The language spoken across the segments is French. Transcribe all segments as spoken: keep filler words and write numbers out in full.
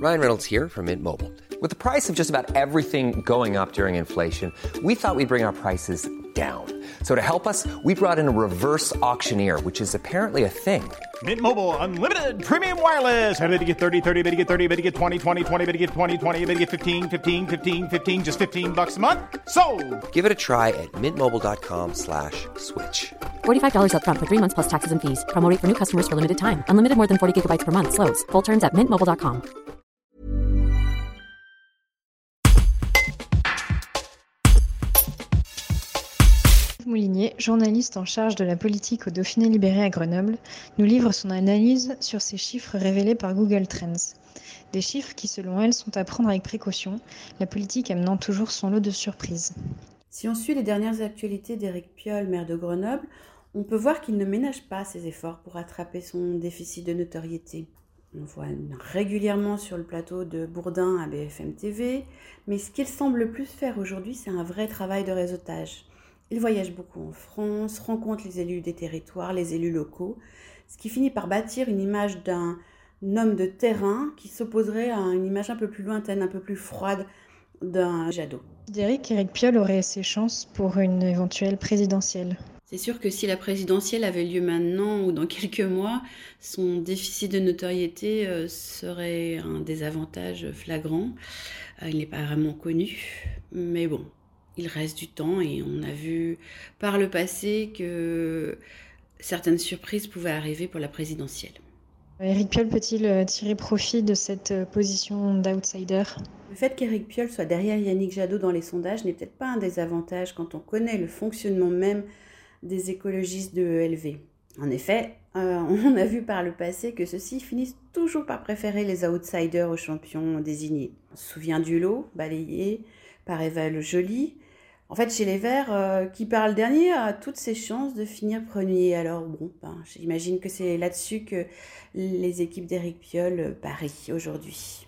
Ryan Reynolds here from Mint Mobile. With the price of just about everything going up during inflation, we thought we'd bring our prices down. So to help us, we brought in a reverse auctioneer, which is apparently a thing. Mint Mobile Unlimited Premium Wireless. How to get thirty, thirty, how to get thirty, how to get twenty, twenty, twenty, how to get twenty, twenty, how to get fifteen, fifteen, fifteen, fifteen, just fifteen bucks a month? Sold! Give it a try at mintmobile.com slash switch. forty-five dollars up front for three months plus taxes and fees. Promo rate for new customers for limited time. Unlimited more than forty gigabytes per month. Slows full terms at mint mobile dot com. Moulinier, journaliste en charge de la politique au Dauphiné libéré à Grenoble, nous livre son analyse sur ces chiffres révélés par Google Trends. Des chiffres qui, selon elle, sont à prendre avec précaution, la politique amenant toujours son lot de surprises. Si on suit les dernières actualités d'Éric Piolle, maire de Grenoble, on peut voir qu'il ne ménage pas ses efforts pour rattraper son déficit de notoriété. On voit régulièrement sur le plateau de Bourdin à B F M T V, mais ce qu'il semble le plus faire aujourd'hui, c'est un vrai travail de réseautage. Il voyage beaucoup en France, rencontre les élus des territoires, les élus locaux, ce qui finit par bâtir une image d'un homme de terrain qui s'opposerait à une image un peu plus lointaine, un peu plus froide d'un Jadot. D'Éric, Éric Piolle aurait ses chances pour une éventuelle présidentielle. C'est sûr que si la présidentielle avait lieu maintenant ou dans quelques mois, son déficit de notoriété euh, serait un désavantage flagrant. Euh, il n'est pas vraiment connu, mais bon, il reste du temps et on a vu par le passé que certaines surprises pouvaient arriver pour la présidentielle. Éric Piolle peut-il tirer profit de cette position d'outsider ? Le fait qu'Éric Piolle soit derrière Yannick Jadot dans les sondages n'est peut-être pas un désavantage quand on connaît le fonctionnement même des écologistes de E L V. En effet, euh, on a vu par le passé que ceux-ci finissent toujours par préférer les outsiders aux champions désignés. On se souvient du lot, balayé par Eva Joly. En fait, chez les Verts, euh, qui parle dernier a toutes ses chances de finir premier. Alors bon, ben, j'imagine que c'est là-dessus que les équipes d'Éric Piolle parient aujourd'hui.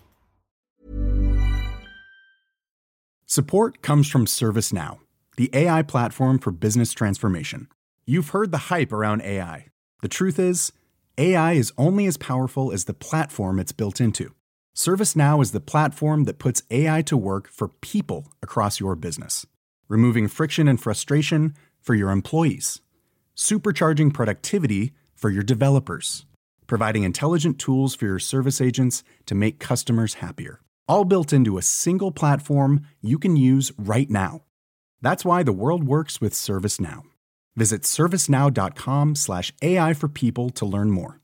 Support comes from ServiceNow, the A I platform for business transformation. You've heard the hype around A I. The truth is, A I is only as powerful as the platform it's built into. ServiceNow is the platform that puts A I to work for people across your business, removing friction and frustration for your employees, supercharging productivity for your developers, providing intelligent tools for your service agents to make customers happier, all built into a single platform you can use right now. That's why the world works with ServiceNow. Visit servicenow.com slash AI for people to learn more.